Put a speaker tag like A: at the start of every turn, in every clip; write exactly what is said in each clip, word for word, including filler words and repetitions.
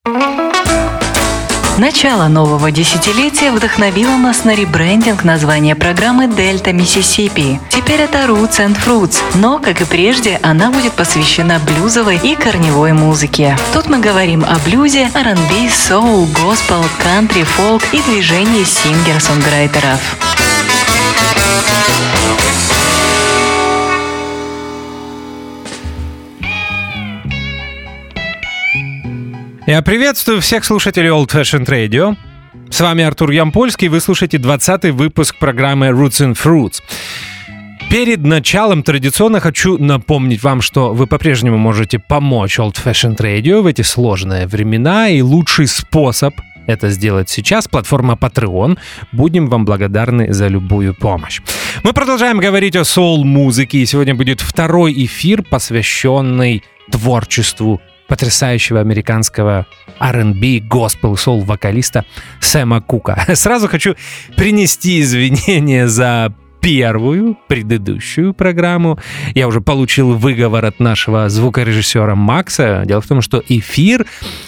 A: Начало нового десятилетия вдохновило нас на ребрендинг названия программы «Дельта Миссисипи». Теперь это Roots and Fruits, но, как и прежде, она будет посвящена блюзовой и корневой музыке. Тут мы говорим о блюзе, ар энд би, соул, госпел, кантри, фолк и движении сингер-сонграйтеров.
B: Я приветствую всех слушателей Old Fashioned Radio. С вами Артур Ямпольский, вы слушаете двадцатый выпуск программы Roots and Fruits. Перед началом традиционно хочу напомнить вам, что вы по-прежнему можете помочь Old Fashioned Radio в эти сложные времена, и лучший способ это сделать сейчас — платформа Patreon. Будем вам благодарны за любую помощь. Мы продолжаем говорить о соул-музыке, и сегодня будет второй эфир, посвященный творчеству потрясающего американского ар энд би, госпел, соул-вокалиста Сэма Кука. Сразу хочу принести извинения за первую, предыдущую программу. Я уже получил выговор от нашего звукорежиссера Макса. Дело в том, что эфир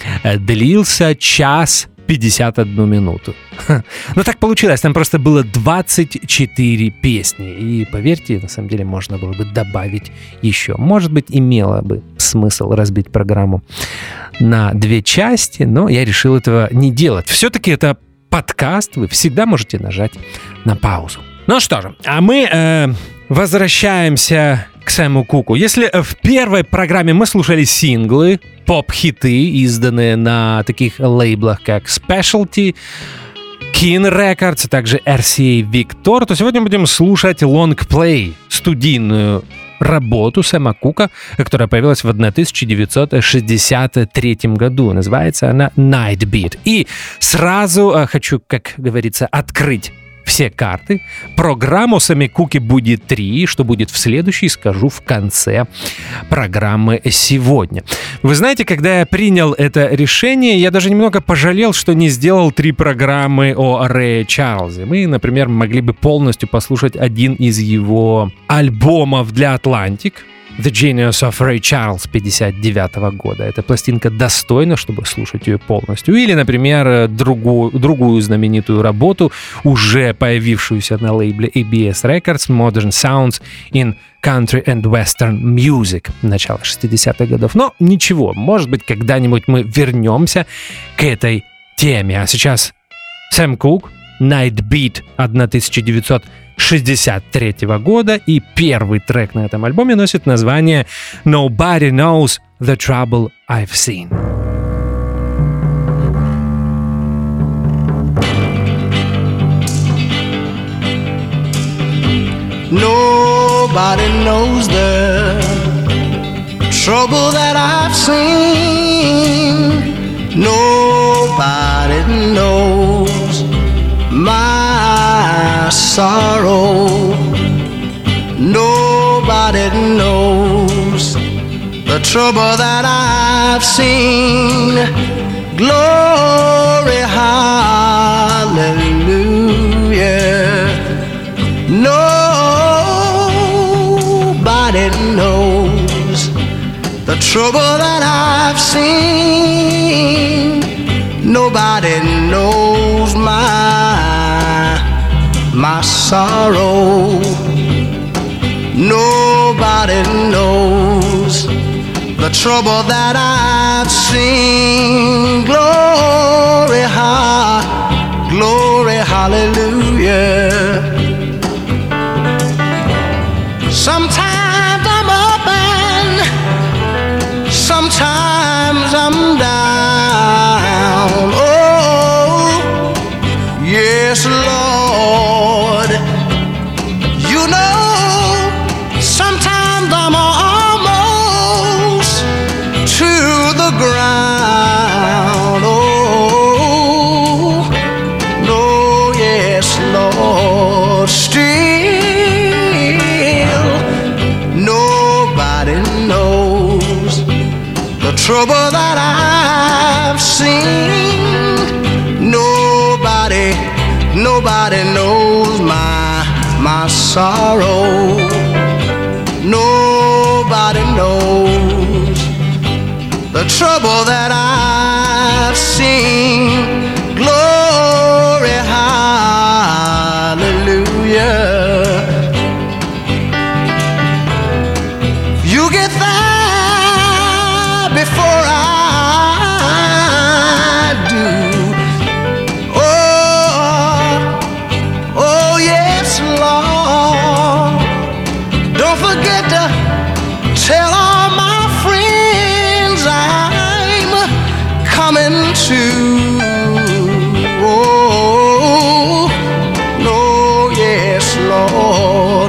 B: длился час пятьдесят одну минуту. Но так получилось, там просто было двадцать четыре песни. И поверьте, на самом деле можно было бы добавить еще. Может быть, имело бы смысл разбить программу на две части, но я решил этого не делать. Все-таки это подкаст, вы всегда можете нажать на паузу. Ну что же, а мы э, возвращаемся к Сэму Куку. Если в первой программе мы слушали синглы, поп-хиты, изданные на таких лейблах, как Specialty, King Records, а также эр си эй Victor, то сегодня будем слушать лонгплей, студийную работу Сэма Кука, которая появилась в тысяча девятьсот шестьдесят третьем году. Называется она Night Beat. И сразу хочу, как говорится, открыть все карты. Программу Сэма Куки будет три. Что будет в следующей, скажу в конце программы сегодня. Вы знаете, когда я принял это решение, я даже немного пожалел, что не сделал три программы о Рэе Чарльзе. Мы, например, могли бы полностью послушать один из его альбомов для Atlantic, The Genius of Ray Charles пятьдесят девятого года. Эта пластинка достойна, чтобы слушать ее полностью. Или, например, другую, другую знаменитую работу, уже появившуюся на лейбле эй би эс Records, Modern Sounds in Country and Western Music, начала шестидесятых годов. Но ничего, может быть, когда-нибудь мы вернемся к этой теме. А сейчас Сэм Кук, Night Beat тысяча девятьсот шестьдесят третьего года, и первый трек на этом альбоме носит название Nobody Knows the Trouble I've Seen.
C: Nobody knows the trouble that I've seen. Nobody knows my sorrow. Nobody knows the trouble that I've seen. Glory, hallelujah. Nobody knows the trouble that I've seen. Nobody knows my, my sorrow. Nobody knows the trouble that I've seen. Glory, ha, glory, hallelujah. Sometimes I'm up and sometimes I'm down. Oh, yes, Lord. You know, sometimes I'm almost to the ground. Oh, no, yes, Lord. Still, nobody knows the trouble that I've seen. Nobody, nobody knows my, my sorrow. Nobody knows the trouble that I've coming to. Oh, no, yes, Lord.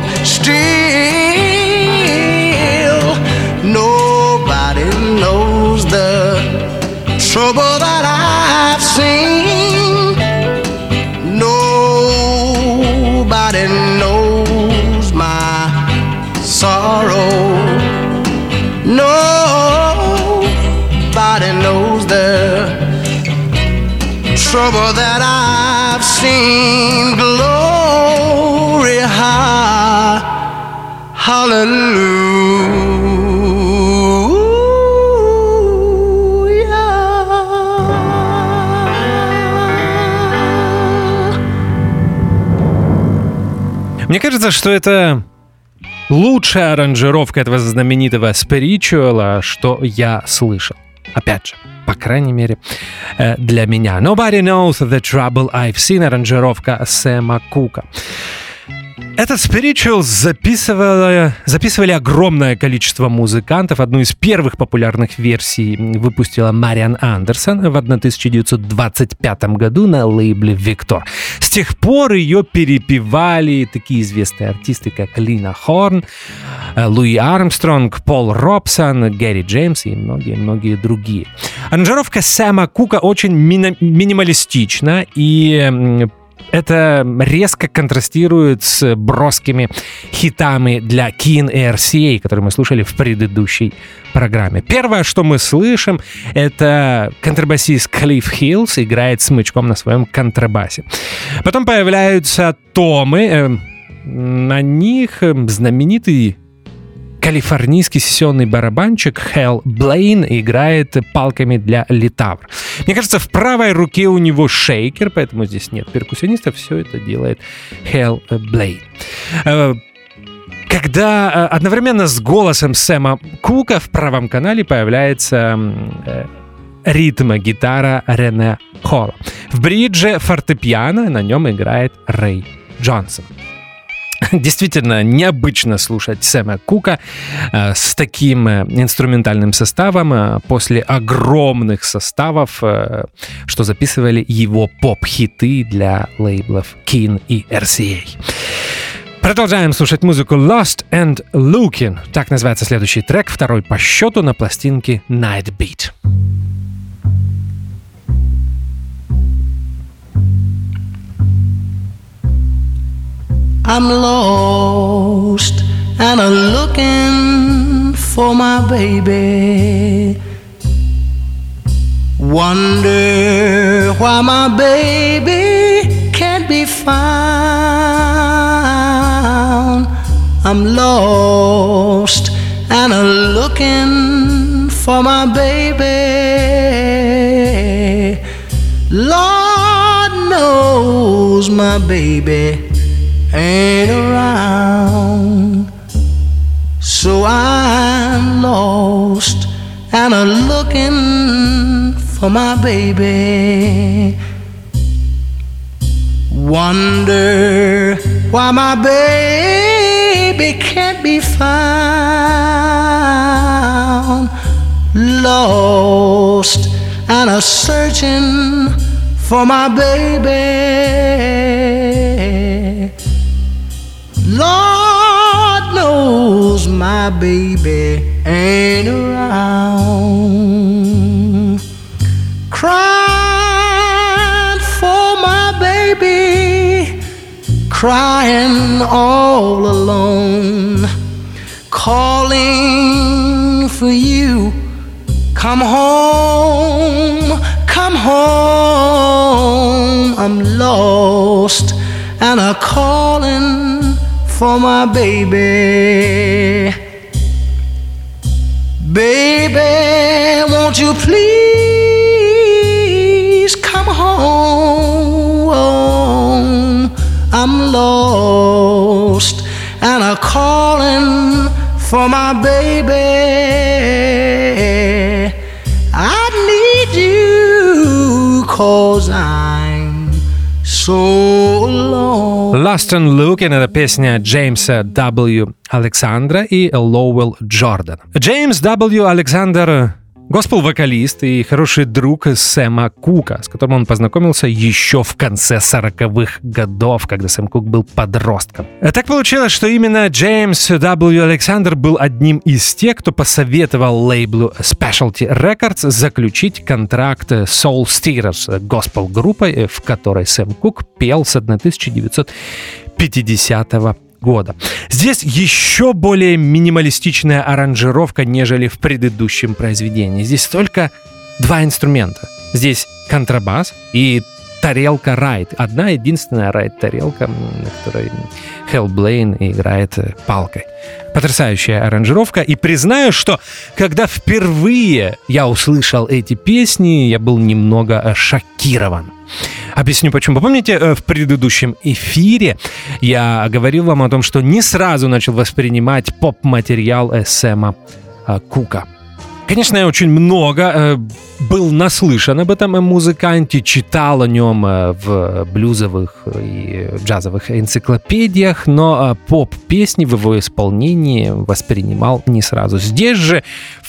C: Still, nobody knows the trouble that I've seen. Nobody knows my sorrow. Nobody knows the trouble that I've seen. Glory, ha, hallelujah.
B: Мне кажется, что это лучшая аранжировка этого знаменитого спиричуала, что я слышал. Опять же, по крайней мере, для меня. Nobody knows the trouble I've seen. Аранжировка Сэма Кука. Этот спиричуал записывали, записывали огромное количество музыкантов. Одну из первых популярных версий выпустила Мариан Андерсон в тысяча девятьсот двадцать пятом году на лейбле Victor. С тех пор ее перепевали такие известные артисты, как Лина Хорн, Луи Армстронг, Пол Робсон, Гэри Джеймс и многие-многие другие. Аранжировка Сэма Кука очень ми- минималистична и это резко контрастирует с броскими хитами для Keen и эр си эй, которые мы слушали в предыдущей программе. Первое, что мы слышим, это контрабасист Клифф Хиллс играет смычком на своем контрабасе. Потом появляются томы, на них знаменитый калифорнийский сессионный барабанщик Хэл Блейн играет палками для литавр. Мне кажется, в правой руке у него шейкер, поэтому здесь нет перкуссиониста, все это делает Хэл Блейн. Когда одновременно с голосом Сэма Кука в правом канале появляется ритм-гитара Рене Холла. В бридже фортепиано, на нем играет Рэй Джонсон. Действительно необычно слушать Сэма Кука э, с таким э, инструментальным составом э, после огромных составов, э, что записывали его поп-хиты для лейблов Keen и эр си эй. Продолжаем слушать музыку Lost and Looking. Так называется следующий трек, второй по счету на пластинке Night Beat.
C: I'm lost and I'm looking for my baby. Wonder why my baby can't be found. I'm lost and I'm looking for my baby. Lord knows my baby ain't around, so I'm lost and I'm looking for my baby. Wonder why my baby can't be found. Lost and I'm searching for my baby. Lord knows my baby ain't around. Crying for my baby, crying all alone, calling for you. Come home, come home. I'm lost and I'm calling for my baby. Baby, won't you please come home? I'm lost and I'm calling for my baby. I need you 'cause I'm so alone.
B: Lost and Looking — это песня Джеймса дабл ю. Александра и Лоуэлл Джордан. Джеймс дабл ю. Александр Госпел-вокалист и хороший друг Сэма Кука, с которым он познакомился еще в конце сороковых годов, когда Сэм Кук был подростком. Так получилось, что именно Джеймс дабл ю. Александр был одним из тех, кто посоветовал лейблу Specialty Records заключить контракт с Soul Stirrers, госпел-группой, в которой Сэм Кук пел с тысяча девятьсот пятидесятого года. Здесь еще более минималистичная аранжировка, нежели в предыдущем произведении. Здесь только два инструмента. Здесь контрабас и тарелка райд. Одна единственная райд-тарелка, на которой Хэл Блейн играет палкой. Потрясающая аранжировка. И признаю, что когда впервые я услышал эти песни, я был немного шокирован. Объясню почему. Помните, в предыдущем эфире я говорил вам о том, что не сразу начал воспринимать поп-материал Сэма Кука. Конечно, я очень много был наслышан об этом музыканте, читал о нем в блюзовых и джазовых энциклопедиях, но поп-песни в его исполнении воспринимал не сразу. Здесь же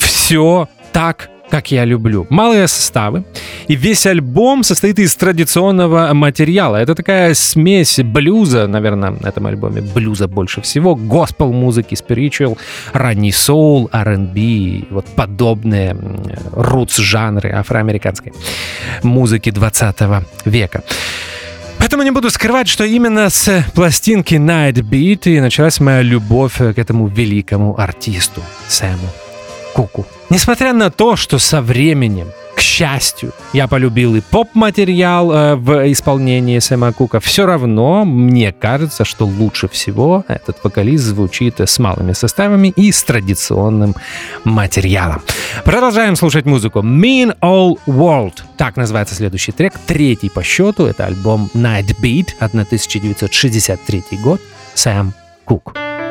B: все так, как я люблю. Малые составы, и весь альбом состоит из традиционного материала. Это такая смесь блюза, наверное, на этом альбоме блюза больше всего, госпел-музыки, спиричуал, ранний соул, ар энд би, вот подобные рутс-жанры афроамериканской музыки двадцатого века. Поэтому не буду скрывать, что именно с пластинки Night Beat и началась моя любовь к этому великому артисту Сэму Куку. Несмотря на то, что со временем, к счастью, я полюбил и поп-материал э, в исполнении Сэма Кука, все равно мне кажется, что лучше всего этот вокалист звучит с малыми составами и с традиционным материалом. Продолжаем слушать музыку. Mean Old World. Так называется следующий трек, третий по счету. Это альбом Night Beat, тысяча девятьсот шестьдесят третий год. Сэм Кук.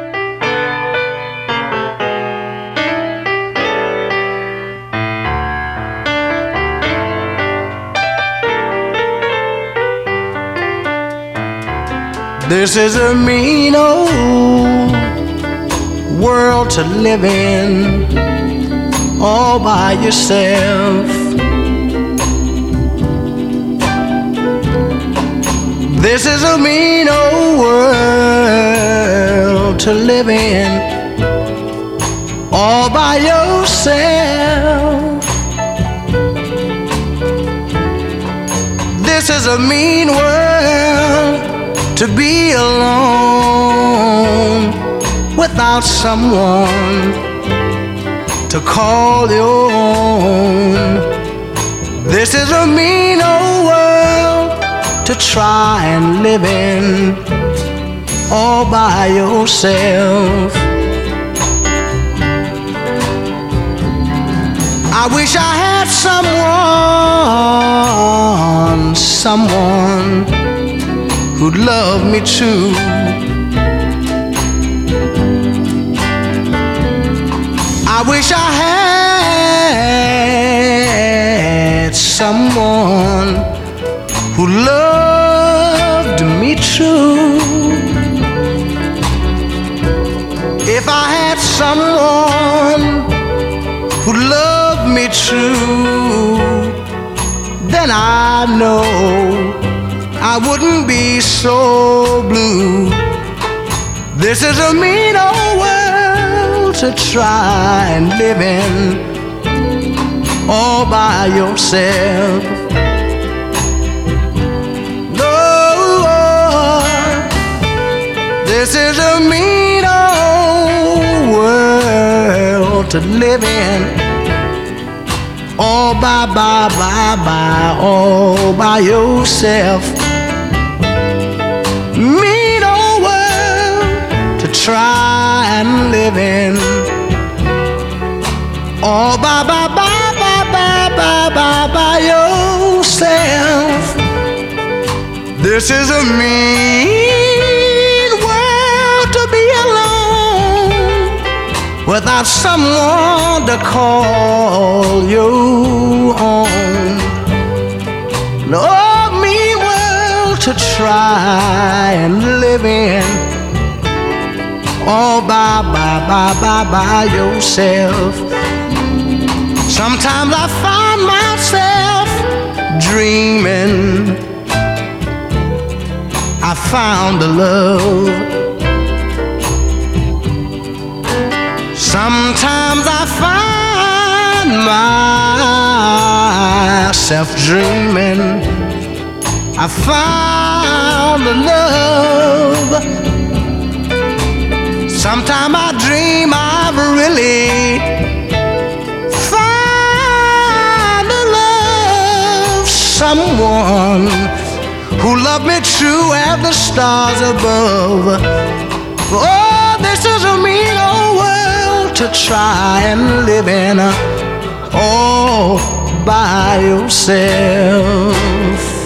C: This is a mean old world to live in, all by yourself. This is a mean old world to live in, all by yourself. This is a mean world to be alone without someone to call your own. This is a mean old world to try and live in all by yourself. I wish I had someone, someone who'd love me true. I wish I had someone who loved me true. If I had someone who loved me true, then I know I wouldn't be so blue. This is a mean old world to try and live in all by yourself. No, this is a mean old world to live in all by, by, by, by, all by yourself. Mean old world to try and live in all by, by, by, by, by, by, by, by yourself. This is a mean world to be alone without someone to call you own. No mean world to try and live in all by, by, by, by, by yourself. Sometimes I find myself dreaming I found a love. Sometimes I find myself dreaming I found a love. Sometimes I dream I've really found a love, someone who loved me true as the stars above. Oh, this is a mean old world to try and live in, all by yourself.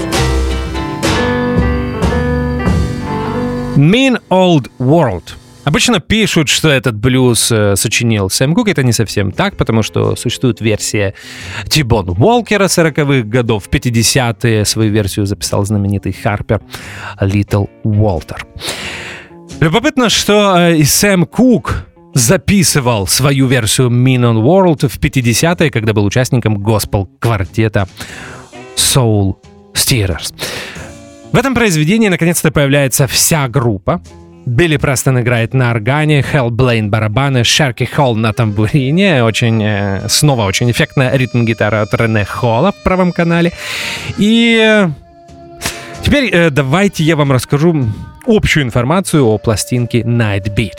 B: Mean Old World. Обычно пишут, что этот блюз э, сочинил Сэм Кук. Это не совсем так, потому что существует версия Ти-Бона Уолкера сороковых годов. В пятидесятые свою версию записал знаменитый Харпер Литл Уолтер. Любопытно, что э, и Сэм Кук записывал свою версию Mean Old World в пятидесятые, когда был участником госпел-квартета Soul Stirrers. В этом произведении наконец-то появляется вся группа. Билли Престон играет на органе, Хелл Блейн барабаны, Шерки Холл на тамбурине, очень, э, снова очень эффектная ритм-гитара от Рене Холла в правом канале. И э, теперь э, давайте я вам расскажу общую информацию о пластинке Night Beat.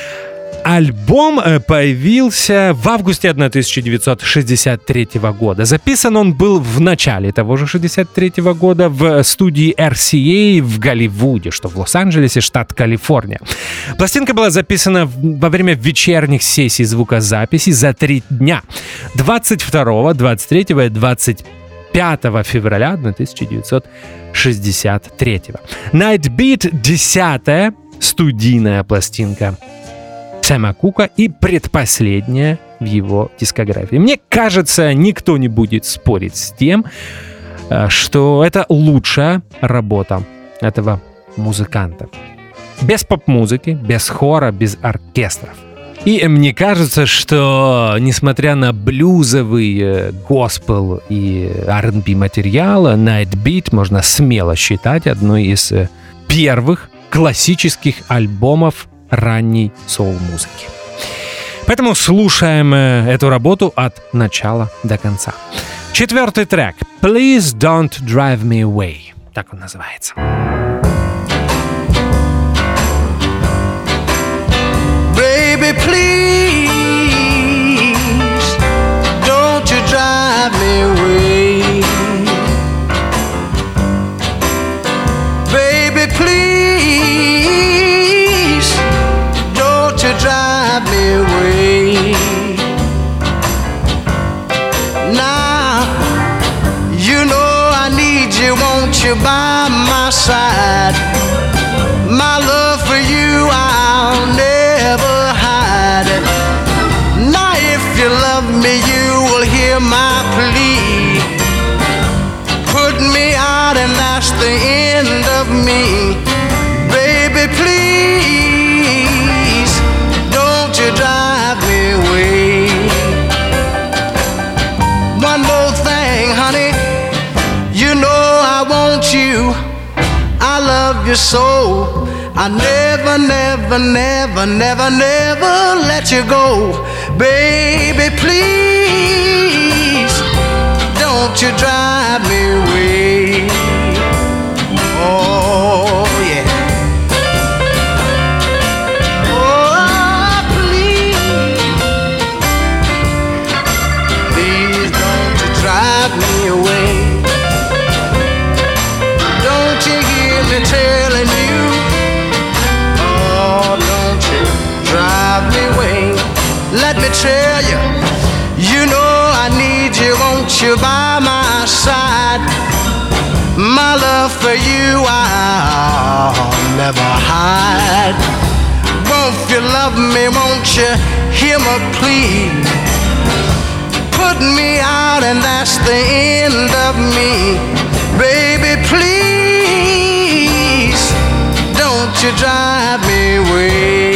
B: Альбом появился в августе тысяча девятьсот шестьдесят третьего года. Записан он был в начале того же шестьдесят третьего года в студии эр си эй в Голливуде, что в Лос-Анджелесе, штат Калифорния. Пластинка была записана во время вечерних сессий звукозаписи за три дня. двадцать второго, двадцать третьего и двадцать пятого февраля тысяча девятьсот шестьдесят третьего. Night Beat — десятая студийная пластинка Сэма Кука и предпоследняя в его дискографии. Мне кажется, никто не будет спорить с тем, что это лучшая работа этого музыканта. Без поп-музыки, без хора, без оркестров. И мне кажется, что несмотря на блюзовый, госпел и ар энд би материал, Night Beat можно смело считать одной из первых классических альбомов ранней соул-музыки. Поэтому слушаем эту работу от начала до конца. Четвертый трек «Please Don't Drive Me Away». Так он называется.
C: Baby, please don't you drive me away. Baby, please don't you drive me away. Now you know I need you, won't you, by my side? My love for you I'll never hide. Now if you love me you will hear my plea. Put me out and that's the end of me. Baby, please don't you drive me away. One more thing, honey, you know I want you, I love you so. I never, never, never, never, never let you go. Baby, please don't you drive me away. Oh, yeah. Oh, please, please don't you drive me away. Don't you hear me telling you? Drive me away. Let me tell you, you know I need you, won't you, by my side? My love for you I'll never hide. Won't you love me, won't you hear my plea? Put me out and that's the end of me. Baby, please don't you drive me away.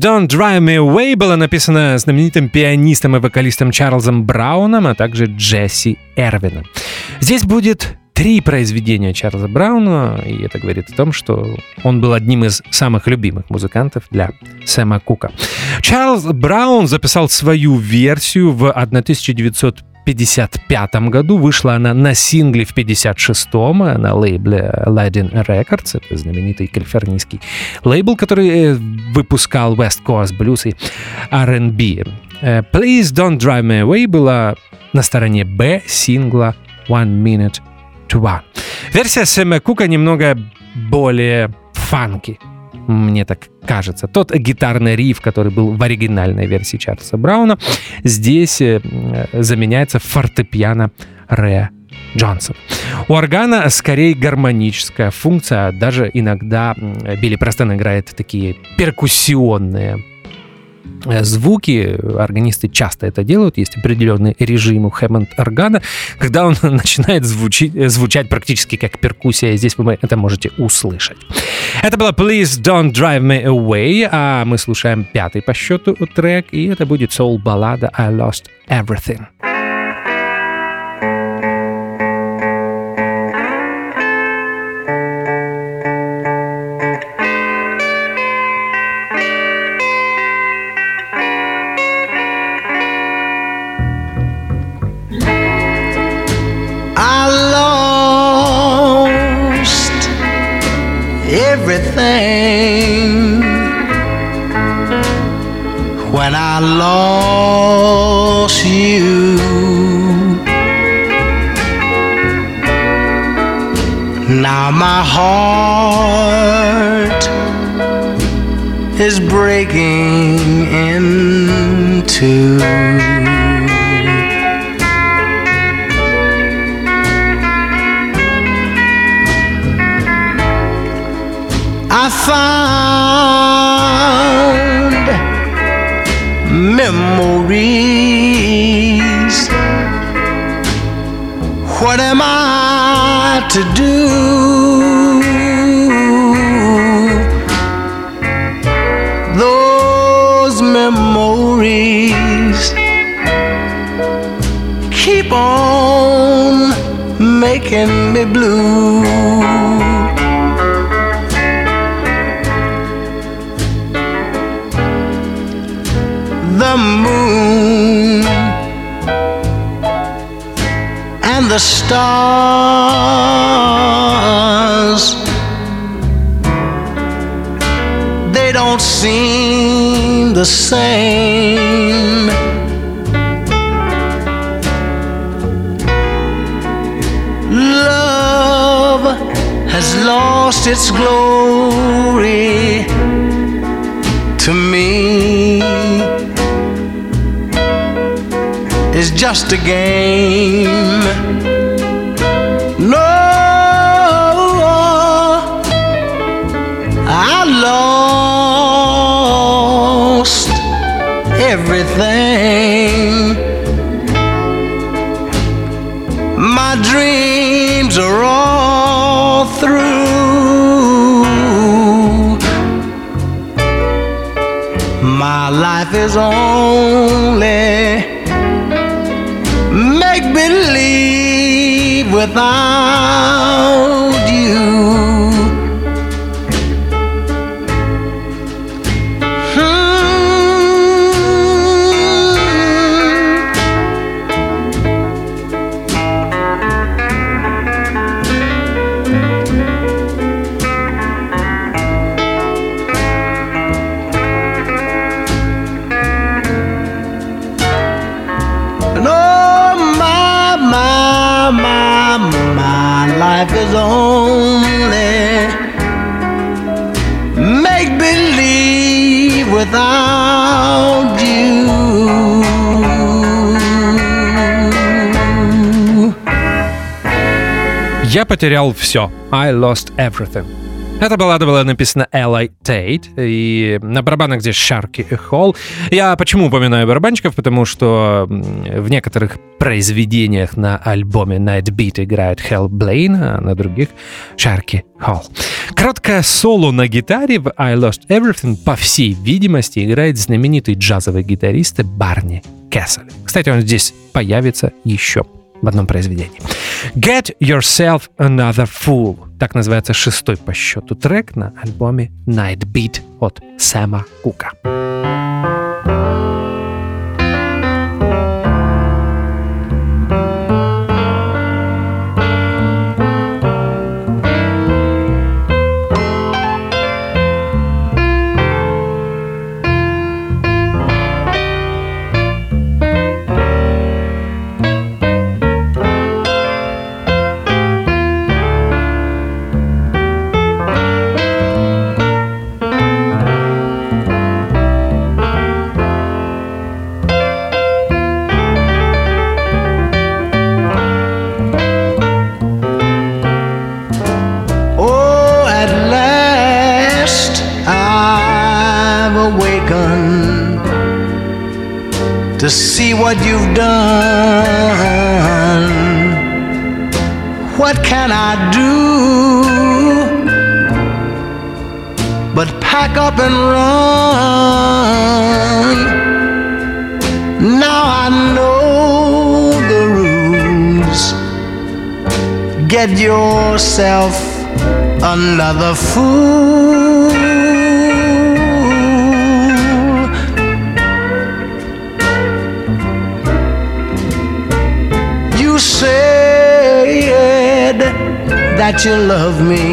B: Don't Drive Me Away» была написана знаменитым пианистом и вокалистом Чарльзом Брауном, а также Джесси Эрвином. Здесь будет три произведения Чарльза Брауна, и это говорит о том, что он был одним из самых любимых музыкантов для Сэма Кука. Чарльз Браун записал свою версию в тысяча девятьсот пятьдесят пятом году. Вышла она на сингле в пятьдесят шестом на лейбле Aladdin Records. Это знаменитый калифорнийский лейбл, который выпускал West Coast Blues и ар энд би. Please Don't Drive Me Away была на стороне Б сингла One Minute to One. Версия Сэма Кука немного более фанки, мне так кажется. Тот гитарный риф, который был в оригинальной версии Чарльза Брауна, здесь заменяется фортепиано Рэя Джонсона. У органа скорее гармоническая функция, даже иногда Билли Престон играет такие перкуссионные звуки. Органисты часто это делают. Есть определенный режим у Хэммонд-органа, когда он начинает звучить, звучать практически как перкуссия. Здесь вы это можете услышать. Это было Please Don't Drive Me Away, а мы слушаем пятый по счету трек, и это будет соул-баллада I Lost Everything.
C: Everything when I lost you. Now my heart is breaking in two. I found memories. What am I to do? Those memories keep on making me blue. The moon and the stars, they don't seem the same. Love has lost its glory to me. It's just a game. No, I lost everything. My dreams are all through. My life is only make-believe without you. Life is only make-believe without you.
B: Я потерял все. I lost everything. Эта баллада была написана Эллой Тейт, и на барабанах здесь Шарки Холл. Я почему упоминаю барабанщиков? Потому что в некоторых произведениях на альбоме Night Beat играет Хэл Блейн, а на других Шарки Холл. Короткое соло на гитаре в I Lost Everything, по всей видимости, играет знаменитый джазовый гитарист Барни Кессель. Кстати, он здесь появится еще в одном произведении. Get Yourself Another Fool. Так называется шестой по счету трек на альбоме Night Beat от Сэма Кука.
C: To see what you've done. What can I do but pack up and run? Now I know the rules. Get yourself another fool. Said that you love me.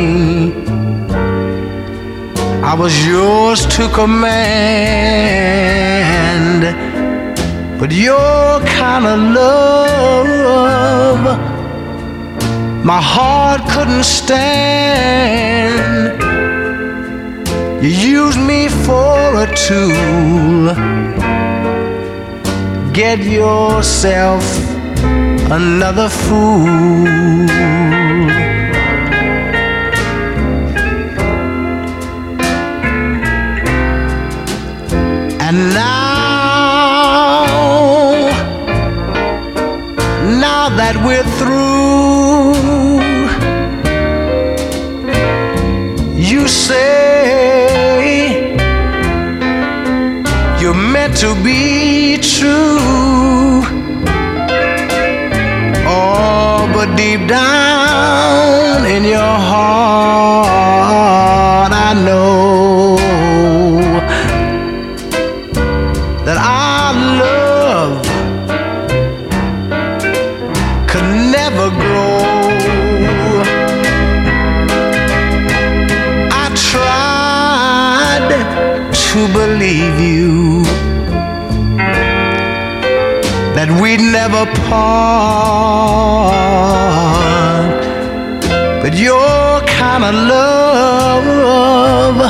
C: I was yours to command, but your kind of love my heart couldn't stand. You used me for a tool. Get yourself another fool. And now, now that we're through, you say you're meant to be true. But deep down in your heart, I know that our love could never grow. I tried to believe you, that we'd never part, but your kind of love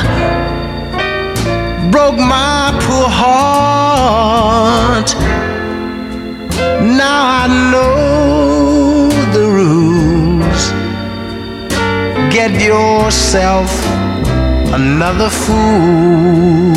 C: broke my poor heart. Now I know the rules. Get yourself another fool.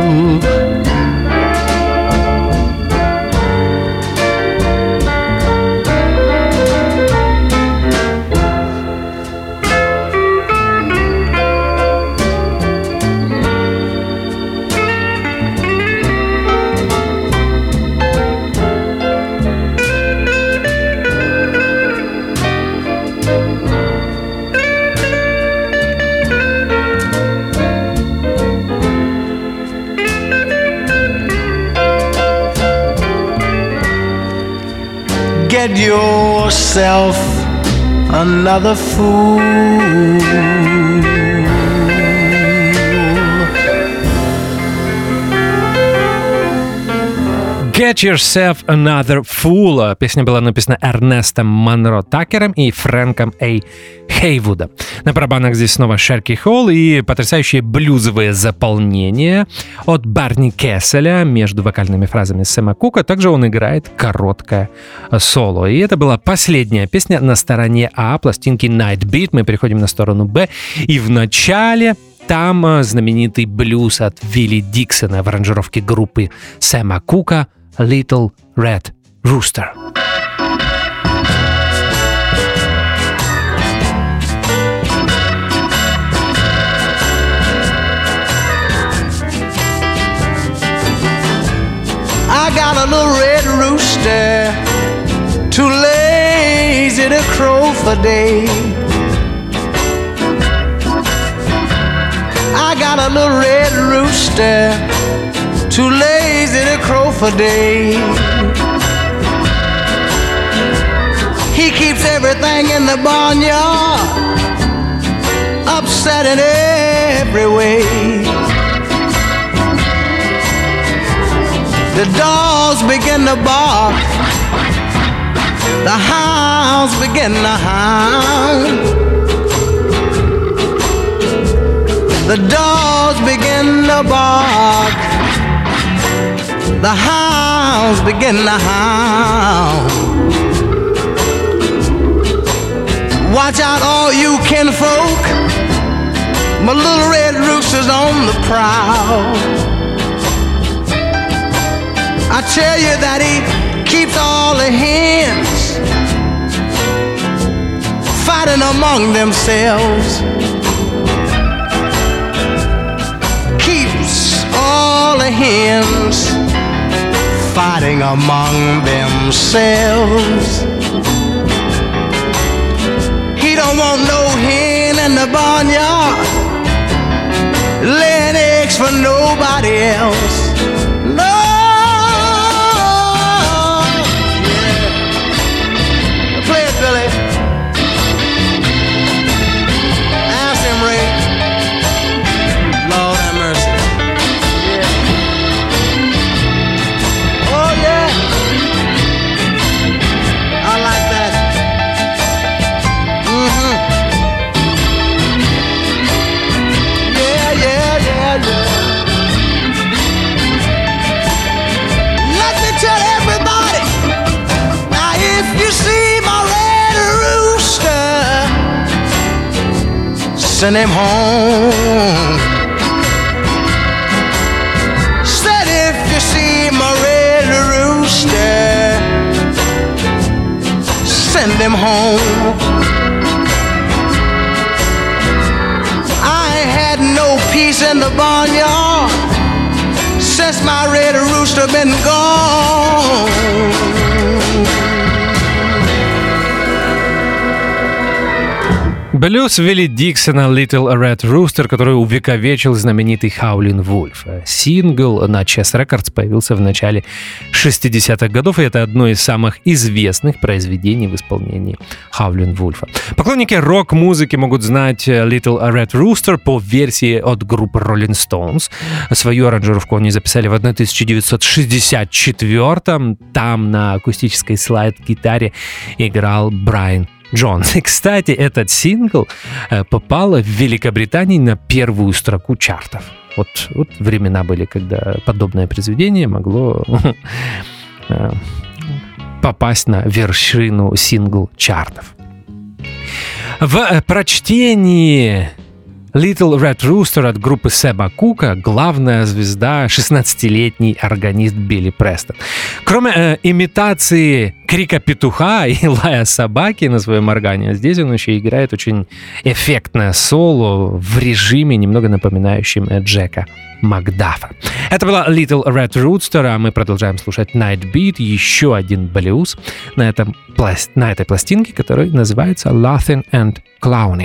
C: Get yourself another fool.
B: Get Yourself Another Fool. Песня была написана Эрнестом Монро Такером и Фрэнком А. Хейвудом. На барабанах здесь снова Шерки Холл и потрясающее блюзовое заполнение от Барни Кесселя между вокальными фразами Сэма Кука. Также он играет короткое соло. И это была последняя песня на стороне А пластинки Night Beat. Мы переходим на сторону Б. И в начале там знаменитый блюз от Вилли Диксона в аранжировке группы Сэма Кука «Little Red Rooster».
C: I got a little red rooster, too lazy to crow for day. I got a little red rooster, too lazy to crow for day. He keeps everything in the barnyard upset in every way. The dogs begin to bark, the hounds begin to hound. The dogs begin to bark, the hounds begin to hound. Watch out all you kinfolk, my little red rooster's on the prowl. I tell you that he keeps all the hens fighting among themselves. Keeps all the hens fighting among themselves. He don't want no hen in the barnyard laying eggs for nobody else. No. Send him home. Said if you see my red rooster, send him home. I ain't had no peace in the barnyard since my red rooster been gone.
B: Блюз Вилли Диксона «Little Red Rooster», который увековечил знаменитый Howlin' Wolf. Сингл на Chess Records появился в начале шестидесятых годов, и это одно из самых известных произведений в исполнении Howlin' Wolf. Поклонники рок-музыки могут знать «Little Red Rooster» по версии от группы Rolling Stones. Свою аранжировку они записали в тысяча девятьсот шестьдесят четвёртом. Там на акустической слайд-гитаре играл Брайан Джонс. И, кстати, этот сингл попал в Великобритании на первую строку чартов. Вот, вот времена были, когда подобное произведение могло попасть на вершину сингл-чартов. В прочтении Little Red Rooster от группы Сэма Кука главная звезда шестнадцатилетний органист Билли Престон. Кроме э, имитации крика петуха и лая собаки на своем органе, здесь он еще играет очень эффектное соло в режиме, немного напоминающем Джека Макдафа. Это была Little Red Rooster, а мы продолжаем слушать Night Beat, еще один блюз на, этом, на этой пластинке, который называется Laughing and Clowning.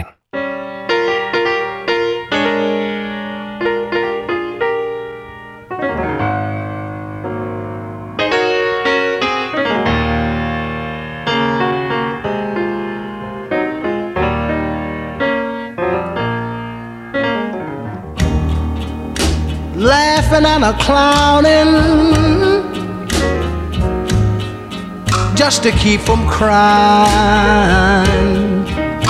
C: Laughing and a clowning, just to keep from crying.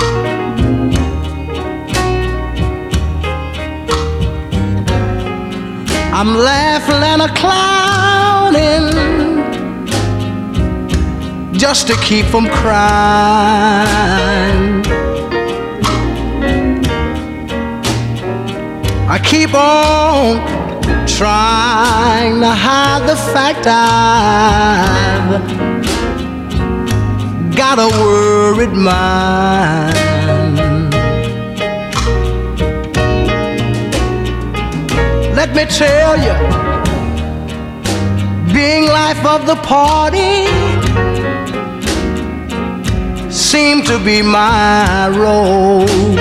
C: I'm laughing and a clowning just to keep from crying. I keep on trying to hide the fact I've got a worried mind. Let me tell you, being life of the party seemed to be my role.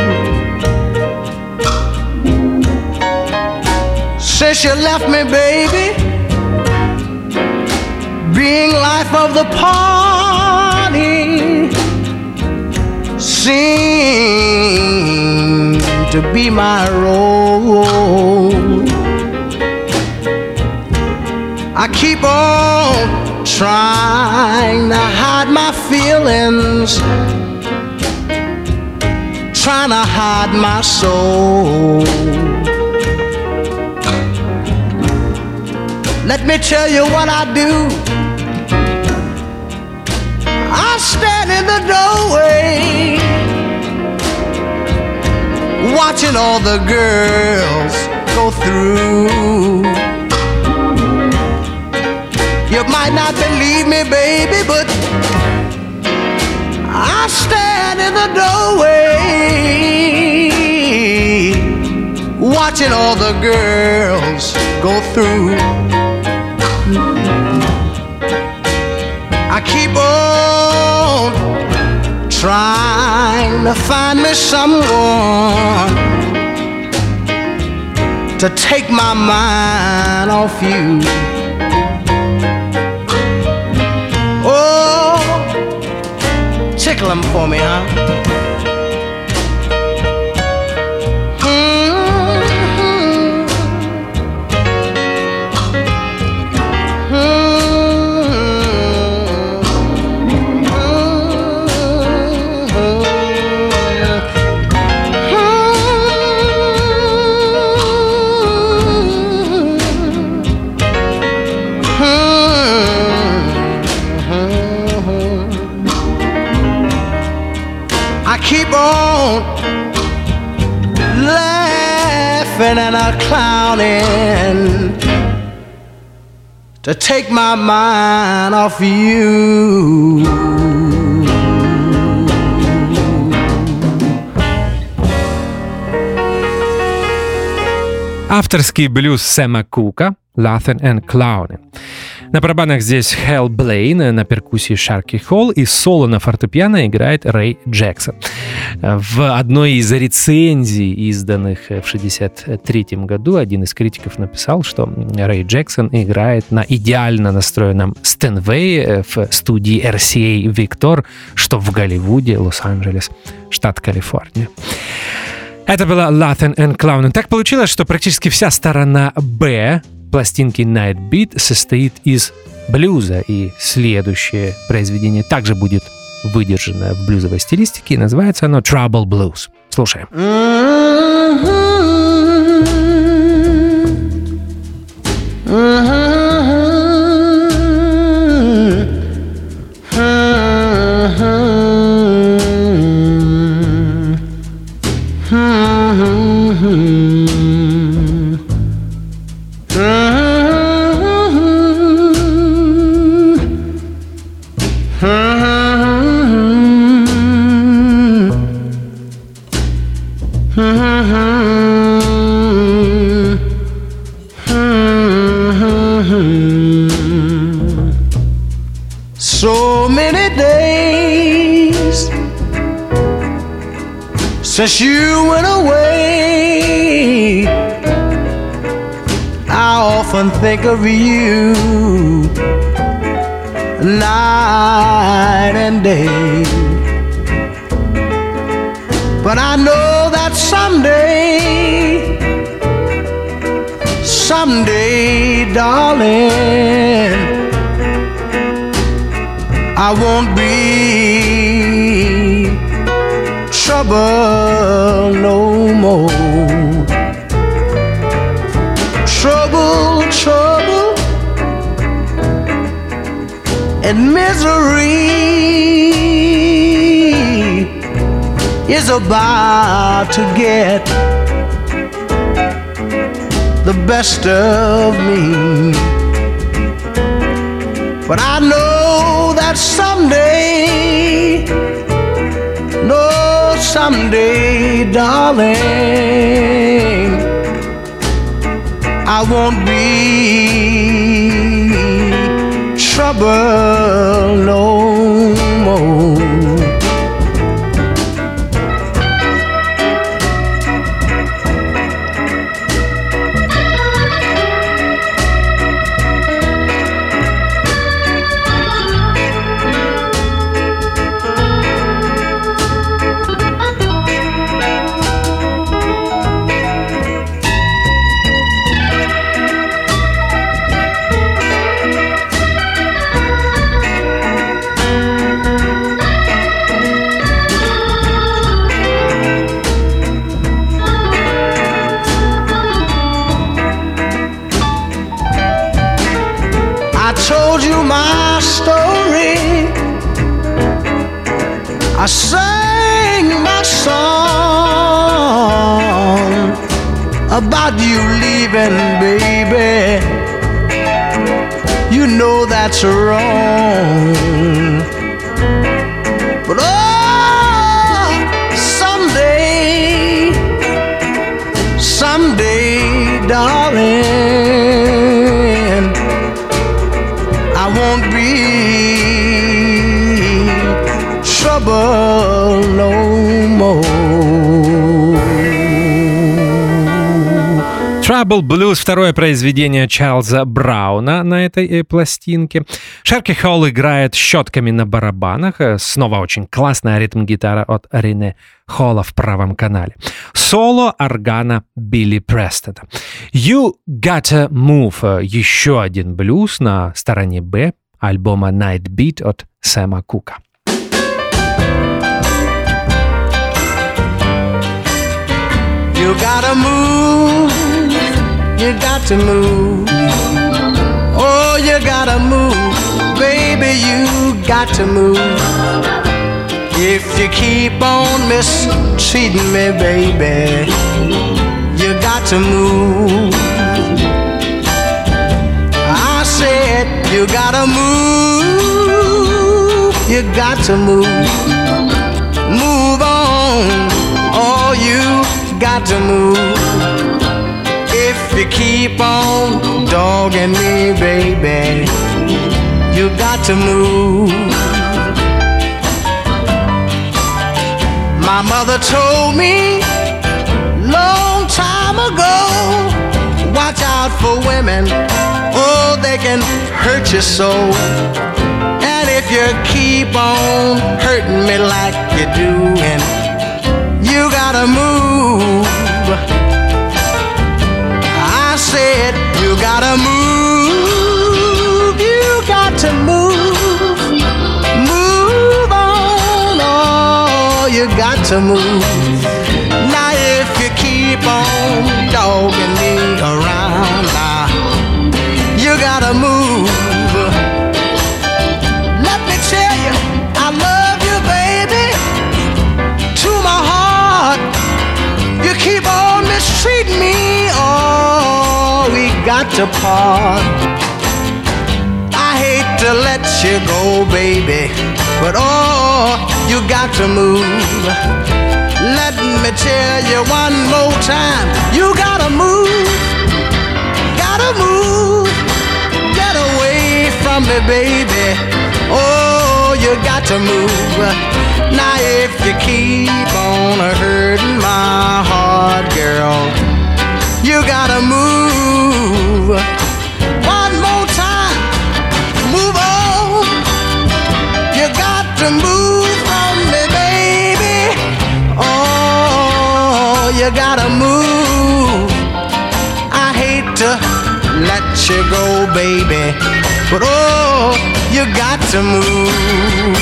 C: Since you left me, baby, being life of the party seemed to be my role. I keep on trying to hide my feelings, trying to hide my soul. Let me tell you what I do. I stand in the doorway, watching all the girls go through. You might not believe me, baby, but I stand in the doorway, watching all the girls go through. I keep on trying to find me someone to take my mind off you. Oh, tickle them for me, huh? Keep on laughing and a clowning to take my mind off you.
B: Авторский блюз Сэма Кука «Laughing and Clowning». На барабанах здесь Хэл Блейн, на перкуссии Шарки Холл и соло на фортепиано играет Рэй Джексон. В одной из рецензий, изданных в шестьдесят третьем году, один из критиков написал, что Рэй Джексон играет на идеально настроенном Стэнвее в студии эр си эй Victor, что в Голливуде, Лос-Анджелес, штат Калифорния. Это была Laughing and Clowning. Так получилось, что практически вся сторона «Б» пластинки Night Beat состоит из блюза, и следующее произведение также будет выдержано в блюзовой стилистике, и называется оно Trouble Blues. Слушаем.
C: So many days since you went away, I often think of you night and day. But I know that someday, someday, darling, I won't be trouble no more. Trouble, trouble, and misery is about to get the best of me. But I know that someday, no, someday, darling, I won't be trouble no more. I sang my song about you leaving, baby. You know that's wrong. But oh, someday, someday, darling, I won't be trouble no more.
B: Trouble Blues — второе произведение Чарльза Брауна на этой э, пластинке. Шерки Холл играет щетками на барабанах. Снова очень классная ритм-гитара от Рене Холла в правом канале. Соло органа Билли Престона. You Gotta Move — еще один блюз на стороне Б альбома Night Beat от Сэма Кука.
C: You gotta move, you got to move. Oh, you gotta move, baby, you got to move. If you keep on mistreating me, baby, you got to move. I said you gotta move, you got to move. Move on, oh, you got to move. If you keep on dogging me, baby, you got to move. My mother told me long time ago, watch out for women, oh, they can hurt your soul. And if you keep on hurting me like you're doing, you gotta move. I said you gotta move. You got to move. Move on. Oh, you got to move. Now if you keep on dogging me around, now you gotta move. Let me tell you, I love you, baby, to my heart. You keep on mistreating me, oh, we got to part. I hate to let you go, baby, but oh, you got to move. Let me tell you one more time, you gotta move, gotta move. Get away from me, baby, oh, you got to move. Now if you keep on hurting my heart, girl, you gotta move. One more time, move on. You got to move from me, baby. Oh, you gotta move. I hate to let you go, baby, but oh, you got to move.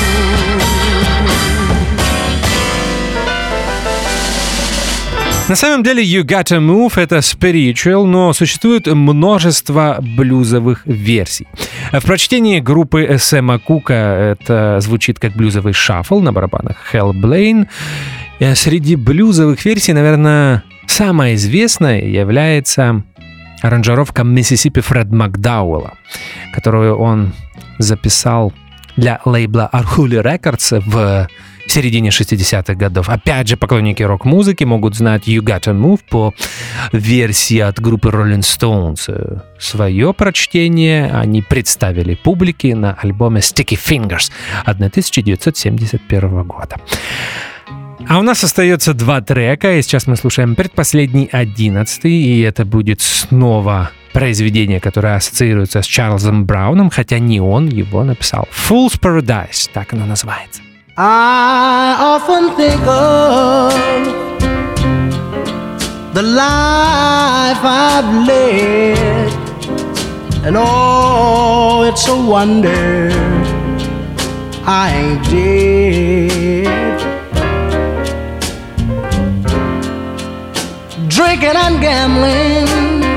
B: На самом деле You Gotta Move — это spiritual, но существует множество блюзовых версий. В прочтении группы Сэма Кука это звучит как блюзовый шаффл, на барабанах Хэл Блейн. Среди блюзовых версий, наверное, самая известная является аранжировка Mississippi Фред Макдауэлла, которую он записал для лейбла Arhoolie Records в середине шестидесятых годов. Опять же, поклонники рок-музыки могут знать You Gotta Move по версии от группы Rolling Stones. Свое прочтение они представили публике на альбоме Sticky Fingers тысяча девятьсот семьдесят первого года. А у нас остается два трека, и сейчас мы слушаем предпоследний, одиннадцатый, и это будет снова произведение, которое ассоциируется с Чарльзом Брауном, хотя не он его написал. Fool's Paradise, так оно называется.
C: I often think of the life I've led, and oh, it's a wonder I ain't dead. Drinking and gambling,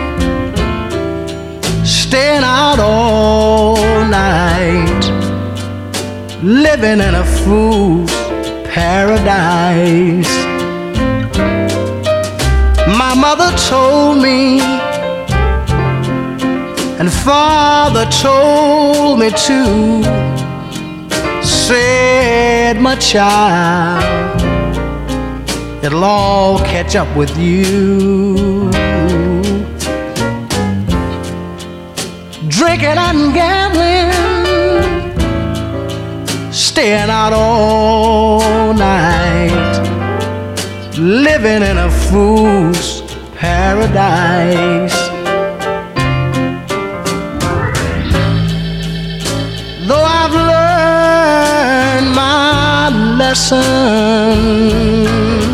C: staying out all night, living in a fool's paradise. My mother told me, and father told me too, said, my child, it'll all catch up with you. Drinking and gambling, staying out all night, living in a fool's paradise. Though I've learned my lesson,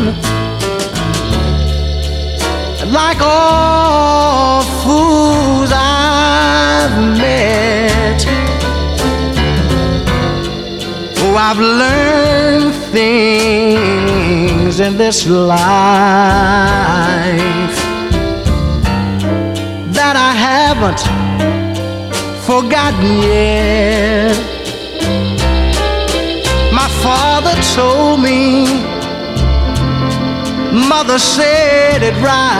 C: like all fools I've met, oh, I've learned things in this life that I haven't forgotten yet. My father told me, mother said it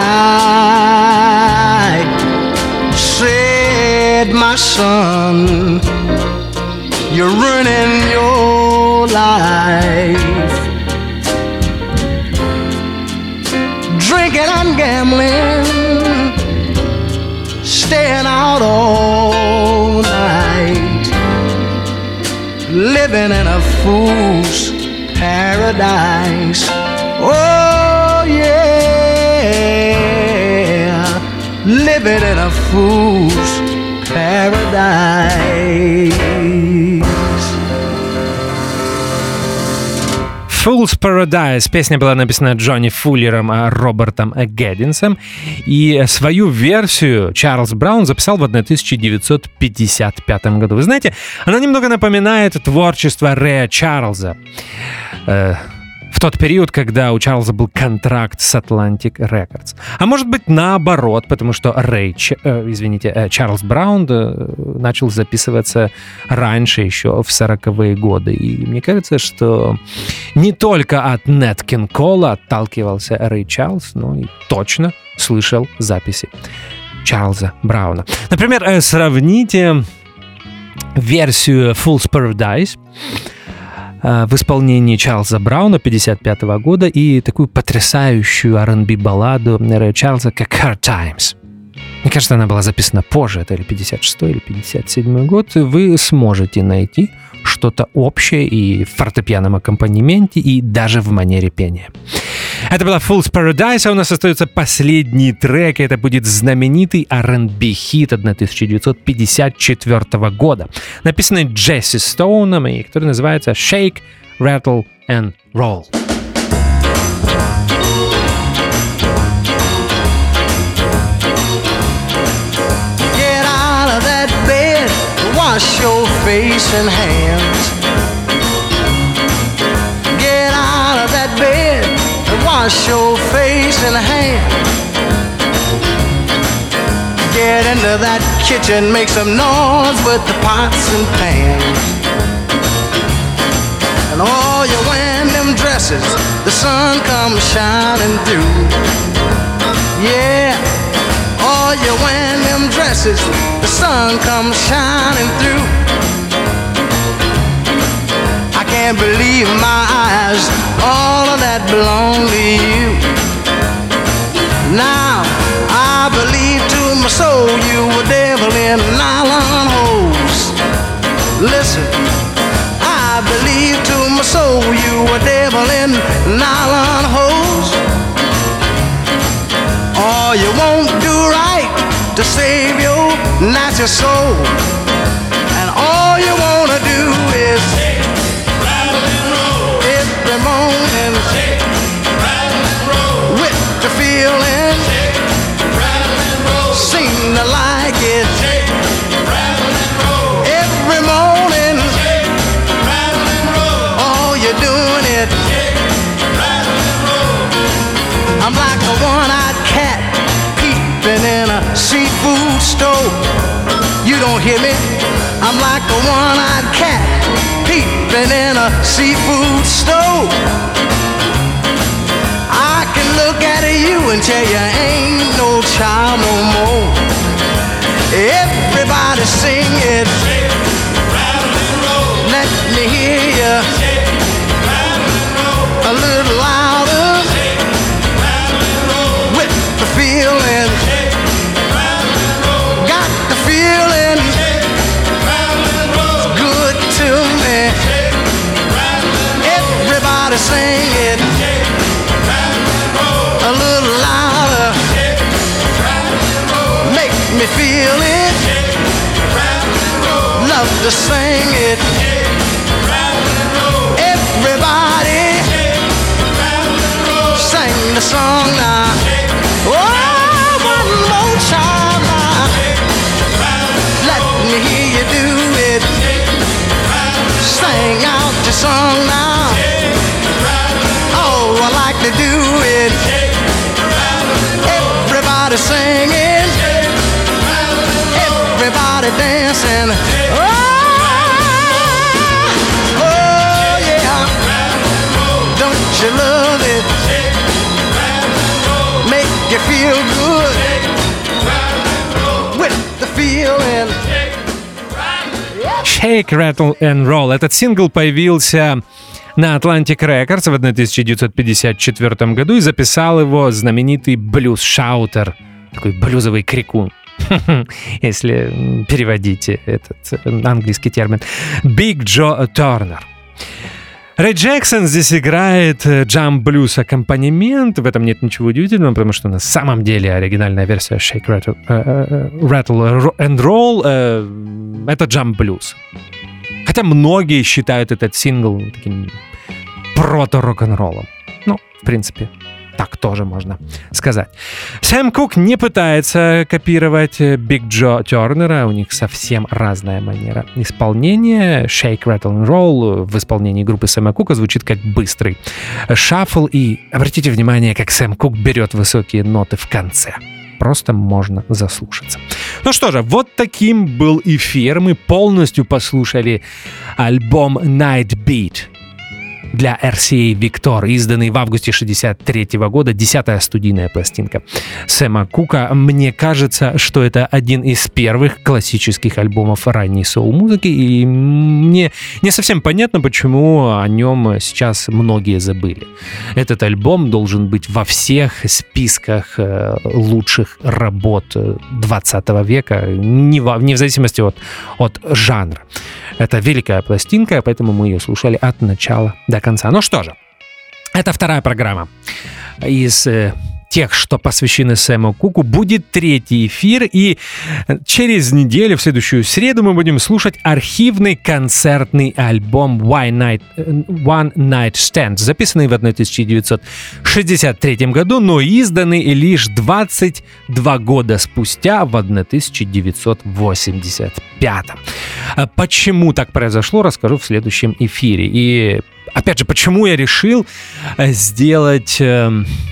C: right, said, my son, you're ruining your life, drinking and gambling, staying out all night, living in a fool's paradise. Oh yeah, living in a fool's paradise.
B: Fool's Paradise. Песня была написана Джонни Фуллером, а Робертом Гэддинсом. И свою версию Чарльз Браун записал в тысяча девятьсот пятьдесят пятом году. Вы знаете, она немного напоминает творчество Рэя Чарльза. Э, в тот период, когда у Чарльза был контракт с Atlantic Records. А может быть наоборот, потому что Рэй, э, извините, э, Чарльз Браун э, начал записываться раньше, еще в сороковые годы. И мне кажется, что не только от Нэт Кинг Кола отталкивался Рэй Чарльз, но и точно слышал записи Чарльза Брауна. Например, э, сравните версию Fool's Paradise в исполнении Чарльза Брауна пятьдесят пятого года и такую потрясающую ар энд би-балладу Рэя Чарльза, как Hard Times. Мне кажется, она была записана позже, это или пятьдесят шестой, или пятьдесят седьмой год. Вы сможете найти что-то общее и в фортепианном аккомпанементе, и даже в манере пения. Это была Fool's Paradise, а у нас остается последний трек, и это будет знаменитый ар энд би-хит тысяча девятьсот пятьдесят четвёртого года, написанный Джесси Стоуном, и который называется Shake, Rattle and Roll.
C: Get out of that bed, why wash your face and hands. Get out of that bed and wash your face and hands. Get into that kitchen, make some noise with the pots and pans. And all you wearing them dresses, the sun comes shining through. Yeah, all you wearing them dresses, the sun comes shining through. I can't believe my eyes, all of that belong to you. Now I believe to my soul you were devil in nylon hose. Listen, I believe to my soul you were devil in nylon hose. All you won't do right to save your natural soul, and all you wanna do is shake, rattle and roll every morning. Shake, rattle and roll with the feeling. Shake, rattle and roll. Seem to like it. Shake, rattle and roll every morning. Shake, rattle and roll. All you're doing it. Shake, rattle and roll. I'm like a one-eyed cat peeping in a seafood store. You don't hear me? I'm like a one-eyed cat peeping in a seafood store. I can look at you and tell you ain't no child no more. Everybody sing it. Shake, rattle and roll. Let me hear you. Shake, rattle and roll. A little louder. Shake, rattle and roll. With the feeling. Shake, rattle and roll. Got the feeling. Shake, rattle and roll. It's good to me. Shake, rattle and roll. Everybody sing it. Shake, rattle and roll. A little louder. Shake, rattle and roll. Make me feel it. Shake, rattle and roll. Love to sing it. Shake, rattle and roll. Everybody. Shake, rattle and roll. Sing the song now. Shake, oh, one more time now. Shake, rattle and roll. Let me hear you do it. Shake, rattle and roll. Sing out your song now. Shake, rattle and roll. Oh, I like to do it. Shake, rattle and roll. Everybody singing. Shake, rattle and roll. Everybody dancing. Shake, oh, oh yeah. Rattle and roll. Don't you love it? Shake, rattle and roll. Make you feel good. Shake, rattle and roll. With the feeling.
B: Shake, Rattle and Roll. Этот сингл появился на Atlantic Records в тысяча девятьсот пятьдесят четвёртом году и записал его знаменитый блюз-шаутер, такой блюзовый крикун, если переводить этот английский термин, Биг Джо Торнер. Рэй Джексон здесь играет джамп-блюз аккомпанемент. В этом нет ничего удивительного, потому что на самом деле оригинальная версия Shake, Rattle, uh, Rattle and Roll uh, это джамп-блюз. Хотя многие считают этот сингл таким прото-рок-н-роллом. Ну, в принципе, так тоже можно сказать. Сэм Кук не пытается копировать Биг Джо Тернера, у них совсем разная манера исполнения. Shake, Rattle and Roll в исполнении группы Сэма Кука звучит как быстрый шаффл, и обратите внимание, как Сэм Кук берет высокие ноты в конце. Просто можно заслушаться. Ну что же, вот таким был эфир. Мы полностью послушали альбом Night Beat для эр си эй Victor, изданный в августе шестьдесят третьего года, десятая студийная пластинка Сэма Кука. Мне кажется, что это один из первых классических альбомов ранней соул-музыки, и мне не совсем понятно, почему о нем сейчас многие забыли. Этот альбом должен быть во всех списках лучших работ двадцатого века, не в, не в зависимости от, от жанра. Это великая пластинка, поэтому мы ее слушали от начала до конца. Ну что же, это вторая программа из э, тех, что посвящены Сэму Куку, будет третий эфир, и через неделю, в следующую среду, мы будем слушать архивный концертный альбом One Night, One Night Stand, записанный в тысяча девятьсот шестьдесят третьем году, но изданный лишь двадцать два года спустя, в тысяча девятьсот восемьдесят пятом. Почему так произошло, расскажу в следующем эфире. И, опять же, почему я решил сделать э,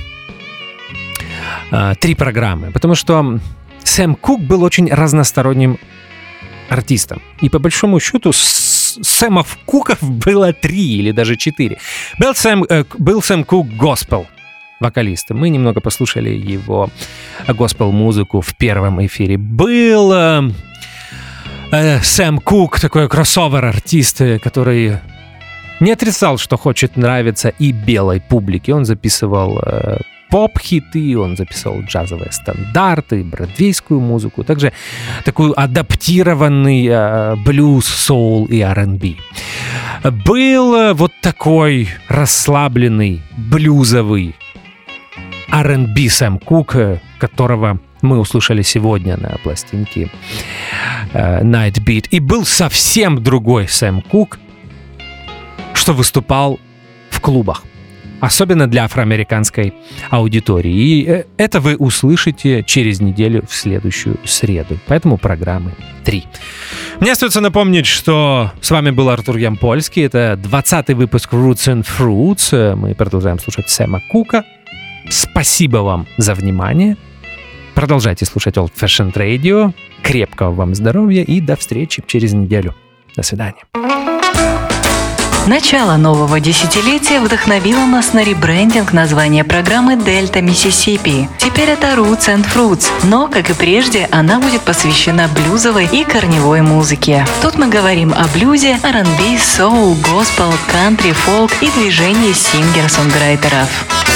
B: э, три программы? Потому что Сэм Кук был очень разносторонним артистом. И, по большому счету, Сэмов Куков было три или даже четыре. Был Сэм, э, был Сэм Кук госпел вокалистом. Мы немного послушали его госпел-музыку в первом эфире. Был э, э, Сэм Кук, такой кроссовер-артист, который не отрицал, что хочет нравиться и белой публике. Он записывал э, поп-хиты, он записывал джазовые стандарты, бродвейскую музыку, также такую адаптированный э, блюз, соул и ар энд би. Был э, вот такой расслабленный, блюзовый ар энд би Сэм Кук, которого мы услышали сегодня на пластинке э, Night Beat. И был совсем другой Сэм Кук, что выступал в клубах, особенно для афроамериканской аудитории. И это вы услышите через неделю в следующую среду. Поэтому программы три. Мне остается напомнить, что с вами был Артур Ямпольский. Это двадцатый выпуск Roots and Fruits. Мы продолжаем слушать Сэма Кука. Спасибо вам за внимание. Продолжайте слушать Old Fashioned Radio. Крепкого вам здоровья и до встречи через неделю. До свидания.
A: Начало нового десятилетия вдохновило нас на ребрендинг названия программы «Дельта Миссисипи». Теперь это Roots and Fruits, но, как и прежде, она будет посвящена блюзовой и корневой музыке. Тут мы говорим о блюзе, ар энд би, соул, госпел, кантри, фолк и движении сингер-сонграйтеров.